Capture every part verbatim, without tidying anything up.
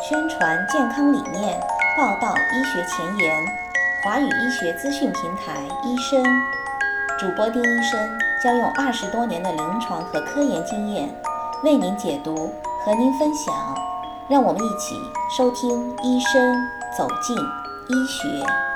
宣传健康理念，报道医学前沿，华语医学资讯平台医生主播丁医生将用二十多年的临床和科研经验为您解读，和您分享。让我们一起收听医生走进医学。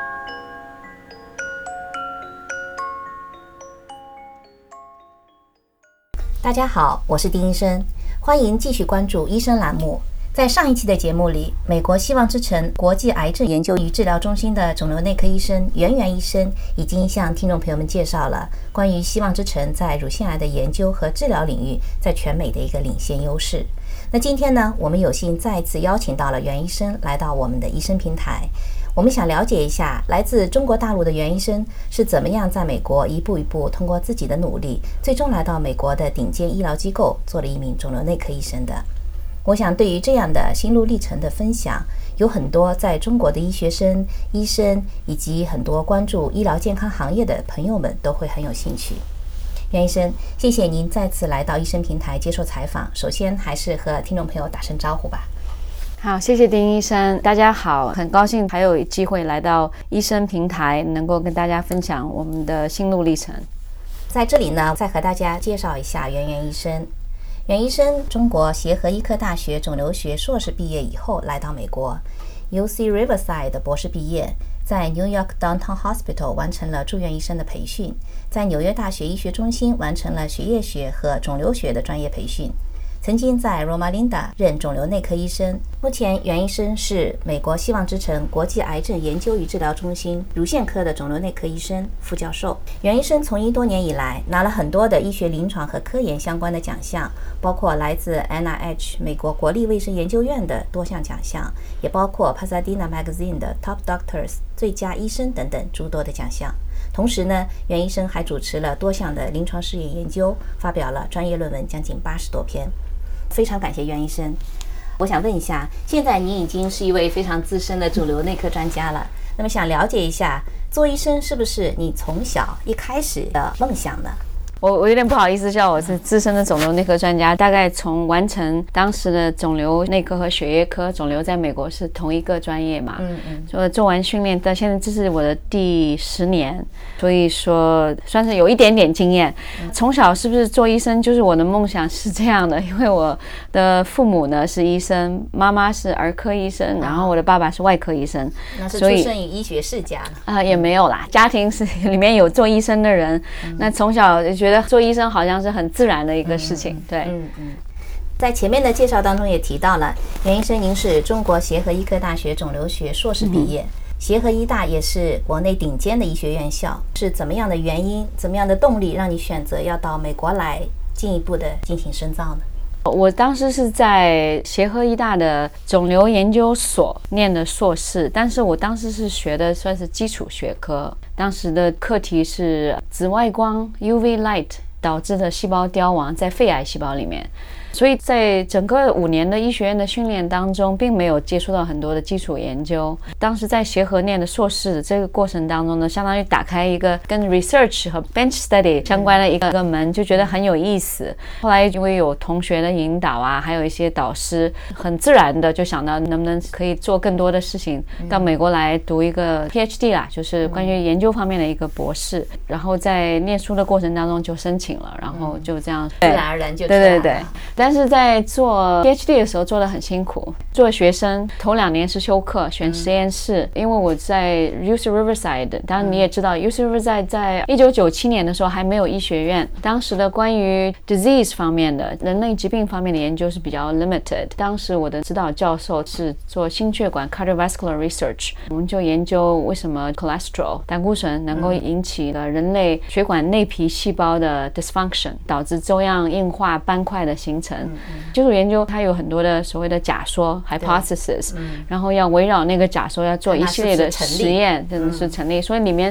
大家好，我是丁医生，欢迎继续关注医生栏目。在上一期的节目里，美国希望之城国际癌症研究与治疗中心的肿瘤内科医生袁袁医生已经向听众朋友们介绍了关于希望之城在乳腺癌的研究和治疗领域在全美的一个领先优势。那今天呢，我们有幸再次邀请到了袁医生来到我们的医生平台。我们想了解一下来自中国大陆的袁医生是怎么样在美国一步一步通过自己的努力，最终来到美国的顶尖医疗机构做了一名肿瘤内科医生的。我想对于这样的心路历程的分享，有很多在中国的医学生、医生以及很多关注医疗健康行业的朋友们都会很有兴趣。袁医生，谢谢您再次来到医生平台接受采访，首先还是和听众朋友打声招呼吧。 好，谢谢丁医生，大家好，很高兴还有机会来到医生平台，能够跟大家分享我们的心路历程。 在这里呢，再和大家介绍一下袁袁医生。袁医生，中国协和医科大学肿瘤学硕士毕业以后来到美国 U C Riverside 的博士毕业，在 New York Downtown Hospital 完成了住院医生的培训，在纽约大学医学中心完成了血液学和肿瘤学的专业培训，曾经在 Loma Linda 任肿瘤内科医生。目前袁医生是美国希望之城国际癌症研究与治疗中心乳腺科的肿瘤内科医生、副教授。袁医生从医多年以来，拿了很多的医学临床和科研相关的奖项，包括来自 N I H 美国国立卫生研究院的多项奖项，也包括 Pasadena Magazine 的 Top Doctors 最佳医生等等诸多的奖项。同时呢，袁医生还主持了多项的临床试验研究，发表了专业论文将近八十多篇。非常感谢袁医生。我想问一下，现在您已经是一位非常资深的肿瘤内科专家了，那么想了解一下，做医生是不是你从小一开始的梦想呢？ 我我有点不好意思叫我是资深的肿瘤内科专家，大概从完成当时的肿瘤内科和血液科，肿瘤在美国是同一个专业嘛，嗯嗯，所以做完训练到现在这是我的第十年，所以说算是有一点点经验。从小是不是做医生就是我的梦想是这样的，因为我的父母呢是医生，妈妈是儿科医生，然后我的爸爸是外科医生， 那是出生于医学世家啊、呃，也没有啦，家庭是里面有做医生的人，嗯、那从小就觉得觉得做医生好像是很自然的一个事情，对，嗯嗯。 在前面的介绍当中也提到了，袁医生您是中国协和医科大学肿瘤学硕士毕业，嗯、协和医大也是国内顶尖的医学院校，是怎么样的原因、怎么样的动力让你选择要到美国来进一步的进行深造呢？ 我当时是在协和医大的肿瘤研究所念的硕士，但是我当时是学的算是基础学科，当时的课题是紫外光 U V light 导致的细胞凋亡在肺癌细胞里面，所以在整个五年的医学院的训练当中，并没有接触到很多的基础研究。当时在协和念的硕士这个过程当中呢，相当于打开一个跟 research 和 bench study 相关的一个门，就觉得很有意思。后来因为有同学的引导啊，还有一些导师，很自然的就想到能不能可以做更多的事情，到美国来读一个 P H D 啦，就是关于研究方面的一个博士。然后在念书的过程当中就申请了，然后就这样自然而然就出来了。 对对对。但是在做 P H D 的时候做得很辛苦，做学生头两年是修课选实验室，嗯、因为我在 U C Riverside， 当然你也知道 U C Riverside 在一九九七年的时候还没有医学院，当时的关于 disease 方面的人类疾病方面的研究是比较 limited。当时我的指导教授是做心血管 cardiovascular research， 我们就研究为什么 cholesterol 胆固醇能够引起了人类血管内皮细胞的 dysfunction， 导致粥样硬化斑块的形成。基础研究它有很多的所谓的假说 hypothesis，嗯、然后要围绕那个假说要做一系列的实验，真的是成立。所以里面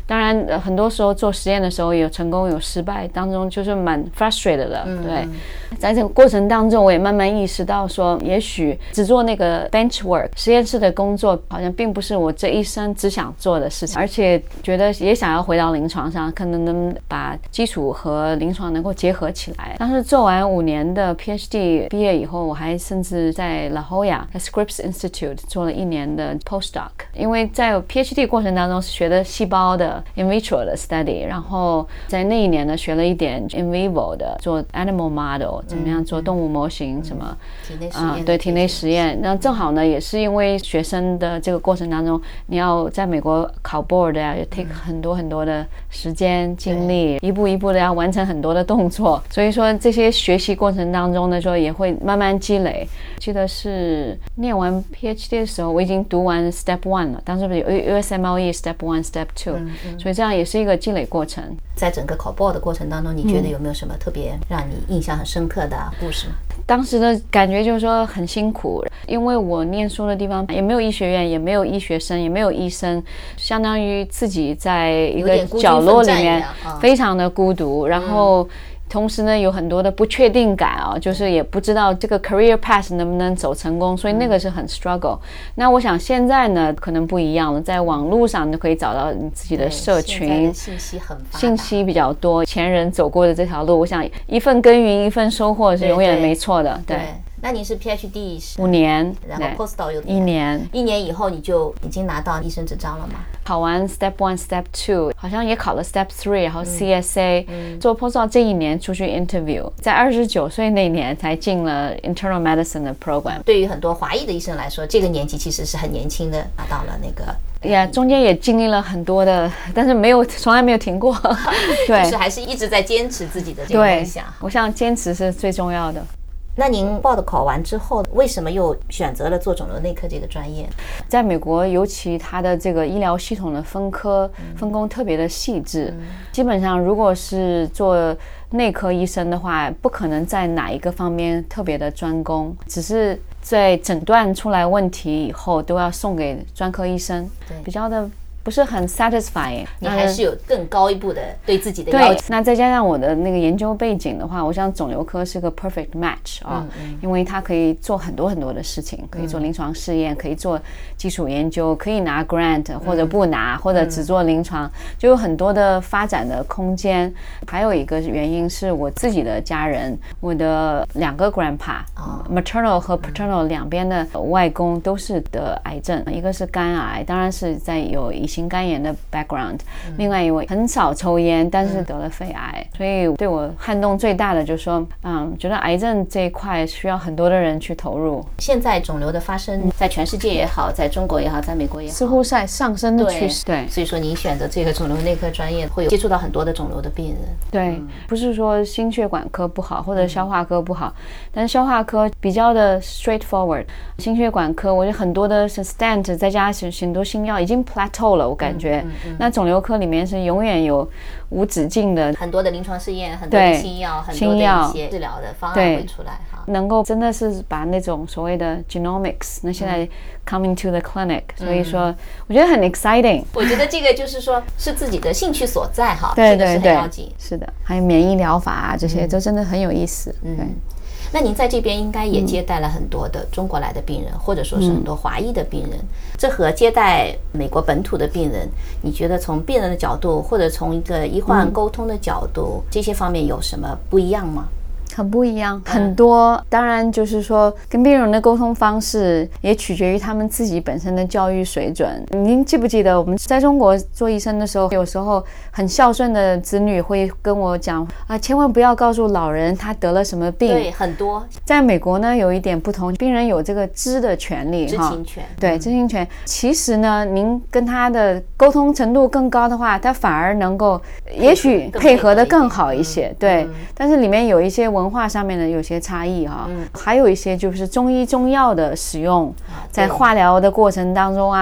当然、呃、很多时候做实验的时候有成功有失败，当中就是蛮 frustrated 的、嗯、对。在这个过程当中我也慢慢意识到说，也许只做那个 bench work 实验室的工作好像并不是我这一生只想做的事情，而且觉得也想要回到临床上，可能能把基础和临床能够结合起来。当时做完五年的 PhD 毕业以后，我还甚至在 La Jolla 在 Scripps Institute 做了一年的 postdoc， 因为在 PhD 过程当中是学的细胞的 in vitro 的 study， 然后在那一年呢学了一点 in vivo 的，做 animal model 怎么样做动物模型、嗯、什么体内实验、啊、 对体内实验。那正好呢也是因为学生的这个过程当中，你要在美国考 board 啊，也 take 很多很多的时间精力，一步一步的要完成很多的动作，所以说这些学习过程当中呢，说也会慢慢积累。记得是念完 PhD 的时候，我已经读完 Step One 了，当时有 U S M L E Step One Step Two、嗯嗯、所以这样也是一个积累过程。 在整个考 board 的过程当中，你觉得有没有什么特别让你印象很深刻的故事吗？ 当时的感觉就是说很辛苦，因为我念书的地方也没有医学院，也没有医学生，也没有医生，相当于自己在一个角落里面非常的孤独，然后同时呢有很多的不确定感啊，就是也不知道这个 career path 能不能走成功，所以那个是很 struggle、嗯、那我想现在呢可能不一样了，在网络上就可以找到你自己的社群， 现在的信息很发达， 信息比较多，前人走过的这条路，我想一份耕耘一份收获是永远没错的。 对, 对, 对。 那你是 PhD 五年， 然后 postdoc 有一年， 一年以后你就已经拿到医生执照了吗？ 考完 Step One Step Two 好像也考了 Step Three， 然后 C S A、嗯嗯、做 postdoc 这一年出去 interview， 在二十九岁那年才进了 internal medicine 的 program。 对于很多华裔的医生来说，这个年纪其实是很年轻的拿到了那个呀、yeah, 中间也经历了很多的，但是没有从来没有停过对，就是还是一直在坚持自己的这个梦想。 我想坚持是最重要的。 那您报的考完之后，为什么又选择了做肿瘤内科这个专业？ 在美国，尤其它的这个医疗系统的分科、嗯、分工特别的细致、嗯、基本上如果是做内科医生的话，不可能在哪一个方面特别的专攻，只是在诊断出来问题以后都要送给专科医生，比较的不是很 satisfying， 你还是有更高一步的对自己的要求。 对，那再加上我的那个研究背景的话，我想肿瘤科是个 perfect match 啊、哦嗯嗯，因为它可以做很多很多的事情，可以做临床试验、嗯，可以做基础研究，可以拿 grant 或者不拿、嗯，或者只做临床、嗯，就有很多的发展的空间。还有一个原因是我自己的家人，我的两个 grandpa、哦、maternal 和 paternal 两边的外公都是得癌症，一个是肝癌，当然是在有一些肝炎的 background、嗯、另外一位很少抽烟，但是得了肺癌、嗯、所以对我撼动最大的就是说嗯，觉得癌症这一块需要很多的人去投入。 现在肿瘤的发生在全世界也好，在中国也好，在美国也好， 似乎在上升的趋势。 对, 对， 所以说您选择这个肿瘤内科专业会有接触到很多的肿瘤的病人。 对、嗯、不是说心血管科不好或者消化科不好、嗯、但是消化科比较的 straightforward， 心血管科我觉得很多的 stent 再加很多新药已经 plateau 了，我感觉、嗯嗯嗯、那肿瘤科里面是永远有无止境的很多的临床试验，很多的新药，很多的一些治疗的方案会出来哈， 能够真的是把那种所谓的 genomics 那现在 coming to the clinic、嗯、所以说我觉得很 exciting。 我觉得这个就是说是自己的兴趣所在哈， 对对对， 这个是很要紧。 是的，还有免疫疗法啊，这些都真的很有意思。嗯，对。 那您在这边应该也接待了很多的中国来的病人、嗯、或者说是很多华裔的病人、嗯、这和接待美国本土的病人，你觉得从病人的角度或者从一个医患沟通的角度、嗯、这些方面有什么不一样吗？ 很不一样，很多、嗯、当然就是说跟病人的沟通方式也取决于他们自己本身的教育水准。您记不记得我们在中国做医生的时候，有时候很孝顺的子女会跟我讲啊，千万不要告诉老人他得了什么病。 对，很多。在美国呢有一点不同，病人有这个知的权利， 知情权。 对，知情权。其实呢您跟他的沟通程度更高的话，他反而能够也许配合的更好一些。对、嗯，但是里面有一些文化上面的有些差异哈、嗯，还有一些就是中医中药的使用，在化疗的过程当中啊，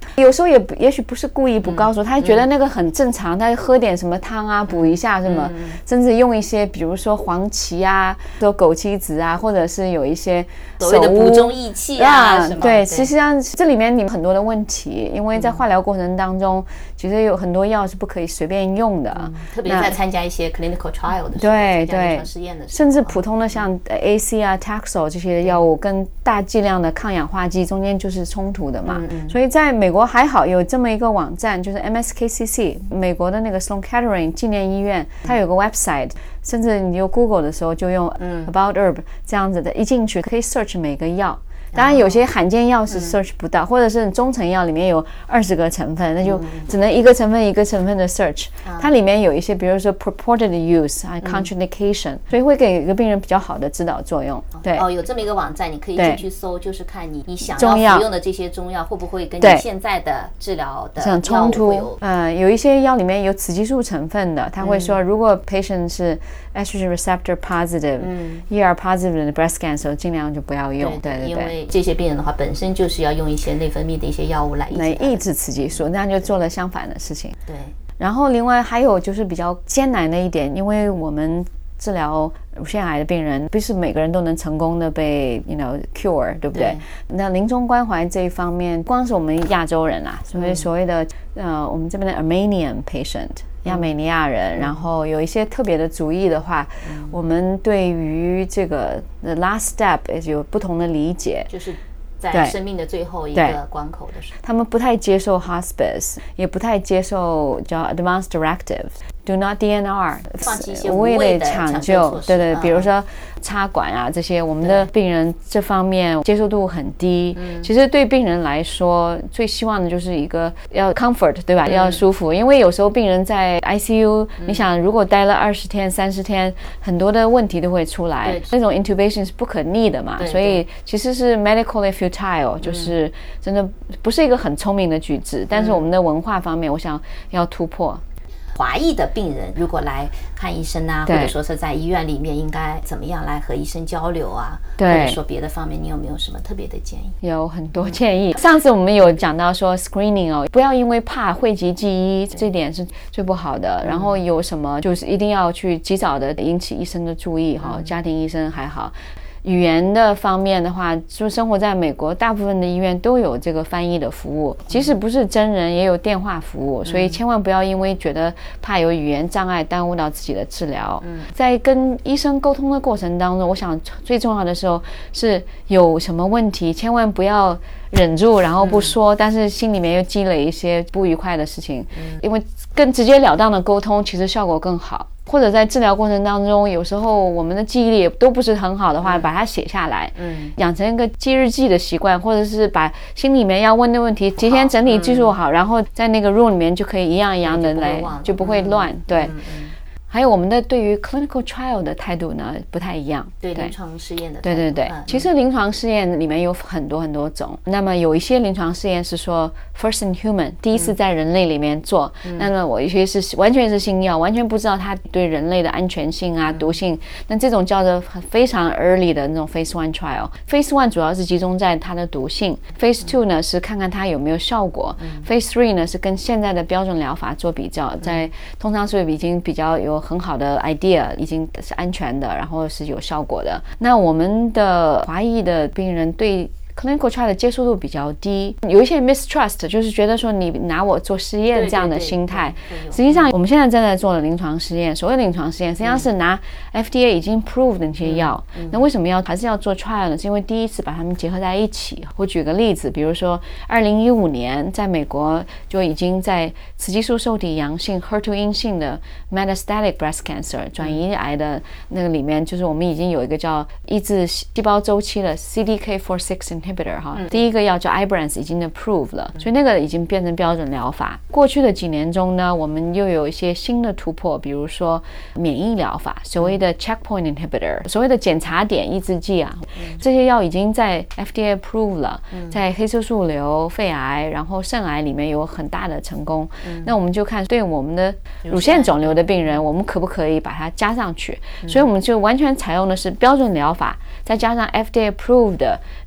有时候也也许不是故意不告诉、嗯、他觉得那个很正常，他喝点什么汤啊补一下什么、嗯、甚至用一些比如说黄芪啊说枸杞子啊，或者是有一些所谓的补中益气啊什么， 对，实际上这里面你们很多的问题，因为在化疗过程当中、嗯、其实有很多药是不可以随便用的、嗯、 特别在参加一些 clinical trial 的时候， 对对， 实验的时候， 甚至普通的像 A C 啊 Taxol 这些药物跟大剂量的抗氧化剂中间就是冲突的嘛、嗯嗯、所以在美国还好有这么一个网站，就是 M S K C C 美国的那个 Sloan Kettering 纪念医院，它有个 website， 甚至你用 Google 的时候就用 About Herb 这样子的，一进去可以 search 每个药，当然有些罕见药是 search 不到、嗯、或者是中成药里面有二十个成分，那就只能一个成分一个成分的 search、嗯、它里面有一些比如说 purported use 啊 contraindication、嗯、所以会给一个病人比较好的指导作用。对哦，有这么一个网站你可以进去搜，就是看你你想要服用的这些中药会不会跟你现在的治疗的药物冲突。呃，有一些药里面有雌激素成分的，他会说如果 patient 是 estrogen receptor positive、嗯、E R positive 的 breast cancer 尽量就不要用。对对对， 因为这些病人的话本身就是要用一些内分泌的一些药物来抑制来抑制雌激素，那就做了相反的事情。 对， 然后另外还有就是比较艰难的一点，因为我们治疗乳腺癌的病人不是每个人都能成功的被 you know cure， 对不对？对，那临终关怀这一方面，光是我们亚洲人啊，所谓所谓的、嗯、呃我们这边的 Armenian patient亚美尼亚人、嗯、然后有一些特别的主义的话、嗯、我们对于这个 the last step 有不同的理解， 就是在生命的最后一个关口的时候， 他们不太接受 hospice， 也不太接受叫 advanced directives，Do not D N R， 放弃一些无谓的抢救措施， 对对，比如说插管啊这些，我们的病人这方面接受度很低。其实对病人来说，最希望的就是一个要 comfort， 对吧？嗯、要舒服，因为有时候病人在 I C U，、嗯、你想如果待了二十天、三十天，很多的问题都会出来，那种 intubation 是不可逆的嘛，所以其实是 medically futile，、嗯、就是真的不是一个很聪明的举止。但是我们的文化方面，我想要突破。 华裔的病人如果来看医生啊，或者说是在医院里面应该怎么样来和医生交流啊，或者说别的方面，你有没有什么特别的建议？ 有很多建议。上次我们有讲到说 screening 哦，不要因为怕讳疾忌医，这点是最不好的。然后有什么就是一定要去及早的引起医生的注意哈，家庭医生还好。语言的方面的话，就生活在美国，大部分的医院都有这个翻译的服务，即使不是真人也有电话服务，所以千万不要因为觉得怕有语言障碍耽误到自己的治疗。在跟医生沟通的过程当中，我想最重要的时候是有什么问题千万不要忍住然后不说、嗯、但是心里面又积累一些不愉快的事情、嗯、因为更直截了当的沟通其实效果更好。或者在治疗过程当中，有时候我们的记忆力都不是很好的话、嗯、把它写下来、嗯、养成一个记日记的习惯，或者是把心里面要问的问题提前整理记录好、嗯、然后在那个 room 里面就可以一样一样的来，就不会乱、嗯、对、嗯嗯。还有我们的对于 clinical trial 的态度呢不太一样， 对临床试验的态度， 对对对、嗯、其实临床试验里面有很多很多种，那么有一些临床试验是说 first in human 第一次在人类里面做、嗯、那么我有些是完全是新药，完全不知道它对人类的安全性啊、嗯、毒性，那这种叫做非常 early 的那种 phase one trial。 phase one 主要是集中在它的毒性， phase two 呢是看看它有没有效果、嗯、phase three 呢是跟现在的标准疗法做比较，在通常是已经比较有很好的 idea， 已经是安全的，然后是有效果的。那我们的华裔的病人对clinical trial 的接受度比较低，有一些 mistrust， 就是觉得说你拿我做实验这样的心态。实际上我们现在正在做的临床实验，所谓临床实验实际上是拿 F D A 已经 approved 的那些药、嗯嗯、那为什么要还是要做 trial 呢？是因为第一次把它们结合在一起。我举个例子，比如说二零一五年在美国就已经在雌激素受体阳性 H E R 二 阴性的 metastatic breast cancer 转移癌的那个里面，就是我们已经有一个叫抑制细胞周期的 C D K 四十六 inhibitor 哈、嗯，第一个药叫 Ibrance 已经 approved 了、嗯，所以那个已经变成标准疗法。过去的几年中呢，我们又有一些新的突破，比如说免疫疗法，所谓的 checkpoint inhibitor， 所谓的检查点抑制剂啊、嗯，这些药已经在 F D A approved 了、嗯，在黑色素瘤、肺癌，然后肾癌里面有很大的成功。嗯、那我们就看对我们的乳腺肿瘤的病人，我们可不可以把它加上去？嗯、所以我们就完全采用的是标准疗法，再加上 F D A approved 的免疫疗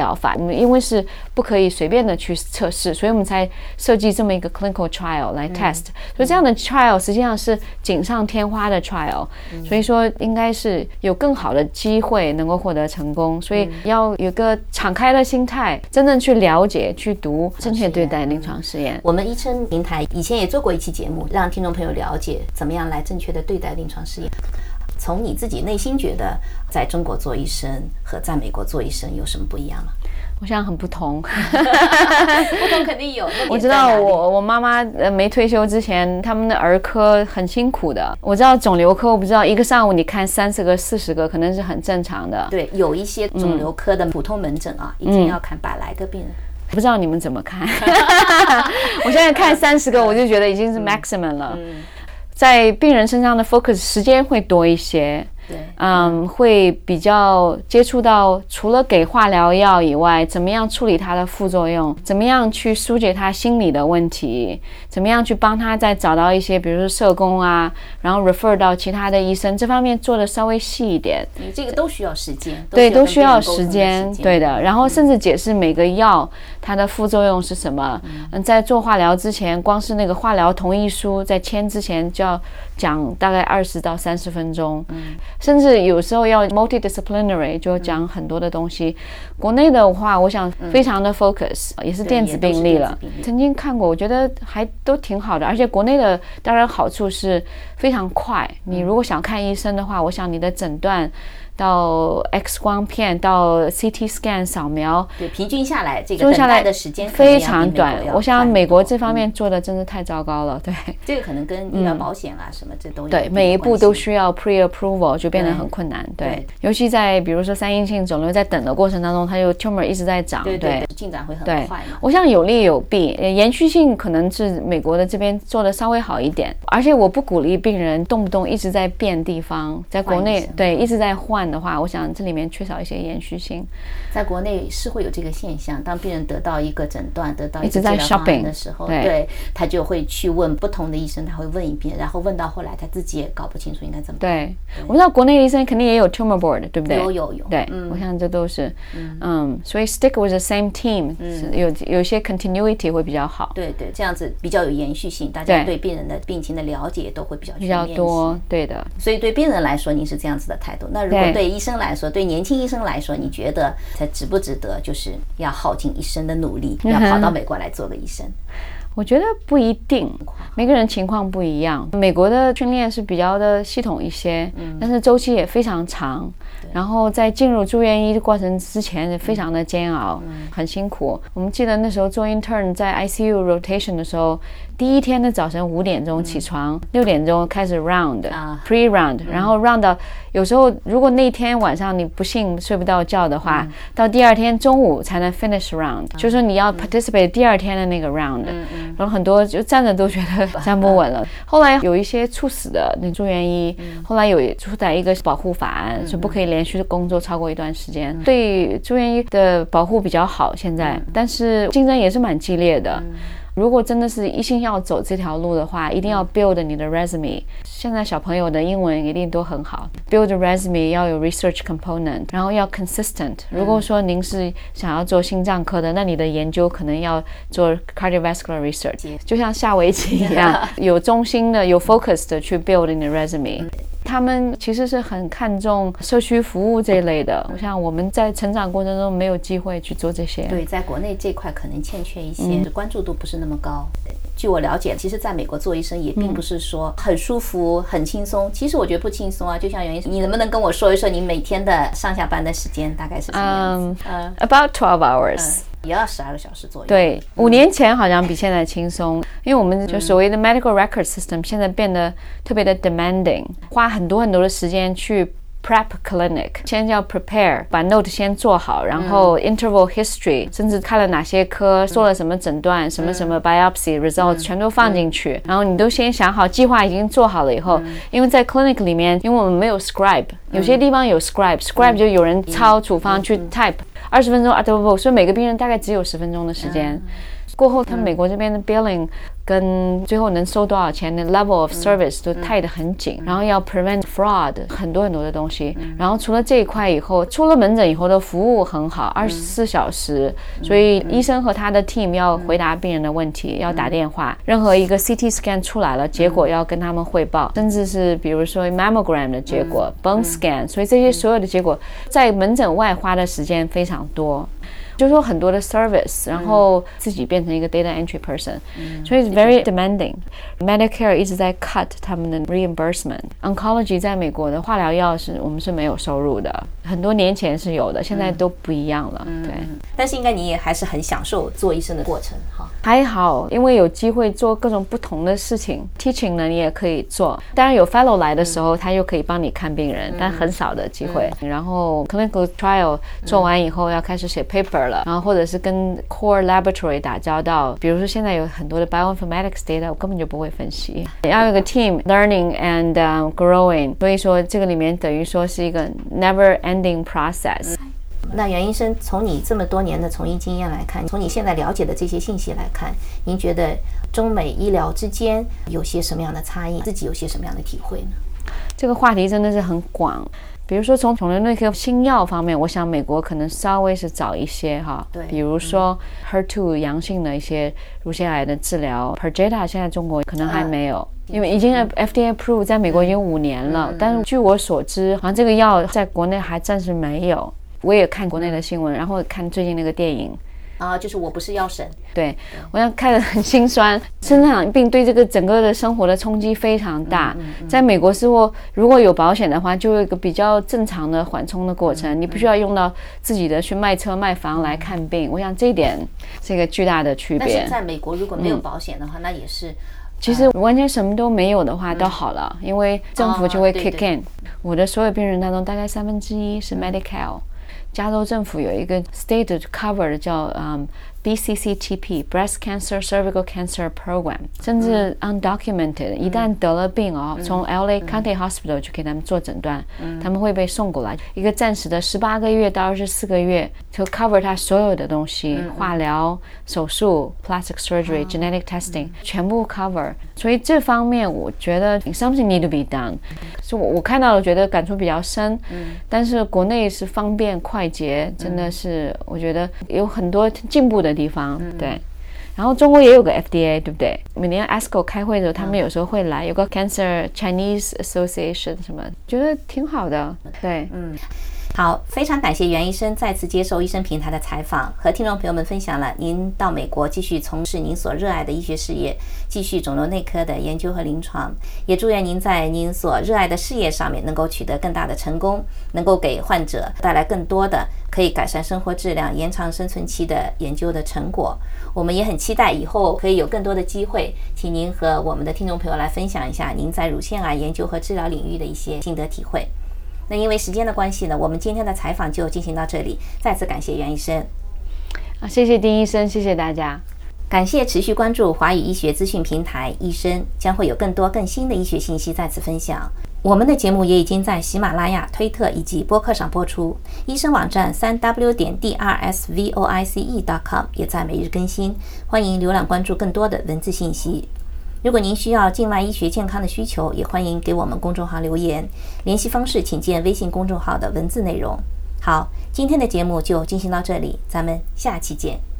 疗法。我们因为是不可以随便的去测试，所以我们才设计这么一个 clinical trial 来 test、嗯、所以这样的 trial 实际上是锦上添花的 trial、嗯、所以说应该是有更好的机会能够获得成功，所以要有个敞开的心态，真正去了解去读，正确对待临床试验。 我们医生平台以前也做过一期节目，让听众朋友了解怎么样来正确的对待临床试验。从你自己内心觉得在中国做医生和在美国做医生有什么不一样吗？ 我想很不同不同肯定有。 我知道我我妈妈呃没退休之前，他们的儿科很辛苦的。我知道肿瘤科，我不知道一个上午你看三十个、四十个，可能是很正常的。 对，有一些肿瘤科的普通门诊啊，嗯、一天要看百来个病人。 不知道你们怎么看？我现在看三十个，我就觉得已经是 maximum 了。嗯嗯、在病人身上的 focus 时间会多一些。对，嗯，会比较接触到除了给化疗药以外，怎么样处理它的副作用，怎么样去疏解他心理的问题，怎么样去帮他再找到一些比如说社工啊，然后 refer 到其他的医生，这方面做的稍微细一点。 你这个都需要时间。 对，都需要时间，对的。然后甚至解释每个药它的副作用是什么。嗯，在做化疗之前，光是那个化疗同意书在签之前就要讲大概二十到三十分钟。嗯，甚至有时候要 multidisciplinary 就讲很多的东西、嗯、国内的话我想非常的 focus、嗯、也是电子病历了，曾经看过，我觉得还都挺好的。而且国内的当然好处是非常快，你如果想看医生的话，我想你的诊断到 X 光片到 C T scan 扫描， 对，平均下来这个等待的时间非常短。我想美国这方面做的真是太糟糕了。对， 这个可能跟医疗保险啊、嗯、什么这都有， 对，每一步都需要 pre-approval 就变得很困难。 对, 对，尤其在比如说三阴性肿瘤在等的过程当中，它就 tumor 一直在长， 对对对，进展会很快嘛。 我想有利有弊，延续性可能是美国的这边做的稍微好一点，而且我不鼓励病人动不动一直在变地方，在国内对一直在换的话，我想这里面缺少一些延续性。 在国内是会有这个现象，当病人得到一个诊断，得到一个治疗方案的时候，对, 对他就会去问不同的医生，他会问一遍，然后问到后来他自己也搞不清楚应该怎么办。对， 对我知道国内的医生肯定也有 tumor board， 对不对？ 有有有。 对、嗯，我想这都是，嗯，嗯所以 stick with the same team，、嗯、有有些 continuity 会比较好。 对对，这样子比较有延续性，大家对病人的病情的了解都会比较全面一些， 比较多。对的。 所以对病人来说，您是这样子的态度。那如果对医生来说，对年轻医生来说，你觉得他值不值得，就是要耗尽一生的努力，要跑到美国来做个医生？ 我觉得不一定，每个人情况不一样。美国的训练是比较的系统一些，嗯、但是周期也非常长。然后在进入住院医的过程之前也非常的煎熬，嗯、很辛苦。我们记得那时候做 intern 在 I C U rotation 的时候，第一天的早晨五点钟起床，六、嗯、点钟开始 round、啊、pre round，、嗯、然后 round 到有时候如果那天晚上你不幸睡不到觉的话，嗯、到第二天中午才能 finish round，、嗯、就是说你要 participate、嗯、第二天的那个 round，、嗯嗯、然后很多就站着都觉得站不稳了。嗯、后来有一些猝死的那住院医、嗯，后来有出台一个保护法案，是、嗯、不可以连续工作超过一段时间，嗯、对住院医的保护比较好现在，嗯、但是竞争也是蛮激烈的。嗯，如果真的是一心要走这条路的话，一定要 build 你的 resume。现在小朋友的英文一定都很好 ，build resume 要有 research component， 然后要 consistent。如果说您是想要做心脏科的，那你的研究可能要做 cardiovascular research， 就像下围棋一样，有中心的、有 focus 的去 build 你的 resume。他们其实是很看重社区服务这一类的，我想我们在成长过程中没有机会去做这些。 对，在国内这块可能欠缺一些，嗯、关注度不是那么高。据我了解，其实在美国做医生也并不是说很舒服、嗯、很轻松。其实我觉得不轻松啊。就像袁医生，你能不能跟我说一说你每天的上下班的时间大概是什么样子？嗯、 um, ，about twelve hours。 嗯，也要十二个小时左右。 对，五年前好像比现在轻松，因为我们就所谓的 medical record system 现在变得特别的 demanding， 花很多很多的时间去 prep clinic， 先要 prepare， 把 note 先做好，然后 interval history， 甚至看了哪些科，做了什么诊断，什么什么 biopsy results 全都放进去，然后你都先想好，计划已经做好了以后，因为在 clinic 里面，因为我们没有 scribe， 有些地方有 scribe，scribe 就有人抄处方去 type， 二十分钟啊不不，所以每个病人大概只有十分钟的时间。 过后，他们美国这边的 billing 跟最后能收多少钱的 level of service 都tie得很紧，然后要 prevent fraud 很多很多的东西。然后除了这一块以后，出了门诊以后的服务很好，二十四小时，所以医生和他的 team 要回答病人的问题，要打电话，任何一个 C T scan 出来了，结果要跟他们汇报，甚至是比如说 mammogram 的结果、bone scan， 所以这些所有的结果在门诊外花的时间非常多。就是说很多的 service， 然后自己变成一个 data entry person，嗯，所以 very demanding。Medicare 一直在 cut 他们的 reimbursement。Oncology 在美国的化疗药是我们是没有收入的，很多年前是有的，现在都不一样了。嗯，对。 但是应该你也还是很享受做医生的过程哈。 还好，因为有机会做各种不同的事情 ，teaching 呢你也可以做。当然有 fellow 来的时候，他又可以帮你看病人，但很少的机会。然后 clinical trial 做完以后要开始写 paper。然后或者是跟 core laboratory 打交道，比如说现在有很多的 bioinformatics data 我根本就不会分析，要有个 team learning and、um, growing， 所以说这个里面等于说是一个 never ending process。 那袁医生，从你这么多年的从医经验来看，从你现在了解的这些信息来看，您觉得中美医疗之间有些什么样的差异，自己有些什么样的体会呢？ 这个话题真的是很广，比如说从肿瘤内科新药方面，我想美国可能稍微是早一些哈，对，比如说 H E R 二 阳性的一些乳腺癌的治疗 Perjeta 现在中国可能还没有，因为已经 F D A approved 在美国已经五年了，但是据我所知好像这个药在国内还暂时没有。我也看国内的新闻，然后看最近那个电影啊，就是我不是药神。 对，我想看得很心酸。生长病对这个整个的生活的冲击非常大。嗯嗯嗯、在美国似乎如果有保险的话，就有一个比较正常的缓冲的过程，嗯嗯、你不需要用到自己的去卖车卖房来看病。我想这一点是一个巨大的区别。 但是在美国如果没有保险的话，嗯、那也是。 其实完全什么都没有的话都好了，嗯、因为政府就会 kick in。哦、对对，我的所有病人当中，大概三分之一是 Medi-Cal。加州政府有一个 state cover 的叫、um, B C C T P Breast Cancer Cervical Cancer Program， 甚至 undocumented，、嗯、一旦得了病哦，嗯、从 L A County Hospital 去给他们做诊断，嗯、他们会被送过来，一个暂时的十八个月到二十四个月，就 cover 他所有的东西，嗯、化疗、手术、plastic surgery、genetic testing、嗯、全部 cover。所以这方面我觉得 something need to be done。所以我我看到了，觉得感触比较深。嗯、但是国内是方便快捷，真的是、嗯、我觉得有很多进步的地方。嗯、对。然后中国也有个 F D A， 对不对？每年 A S C O 开会的时候，他们有时候会来，有个 Cancer Chinese Association 什么，觉得挺好的。对，嗯。 好，非常感谢袁医生再次接受医生平台的采访，和听众朋友们分享了您到美国继续从事您所热爱的医学事业，继续肿瘤内科的研究和临床。也祝愿您在您所热爱的事业上面能够取得更大的成功，能够给患者带来更多的可以改善生活质量、延长生存期的研究的成果。我们也很期待以后可以有更多的机会，请您和我们的听众朋友来分享一下您在乳腺癌研究和治疗领域的一些心得体会。那因为时间的关系呢，我们今天的采访就进行到这里。再次感谢袁医生。 啊，谢谢丁医生，谢谢大家。 感谢持续关注华语医学资讯平台医生，将会有更多更新的医学信息再次分享。我们的节目也已经在喜马拉雅、推特以及播客上播出。医生网站 三 w 点 d r s v o i c e 点 com 也在每日更新，欢迎浏览关注更多的文字信息。如果您需要境外医学健康的需求，也欢迎给我们公众号留言，联系方式请见微信公众号的文字内容。好，今天的节目就进行到这里，咱们下期见。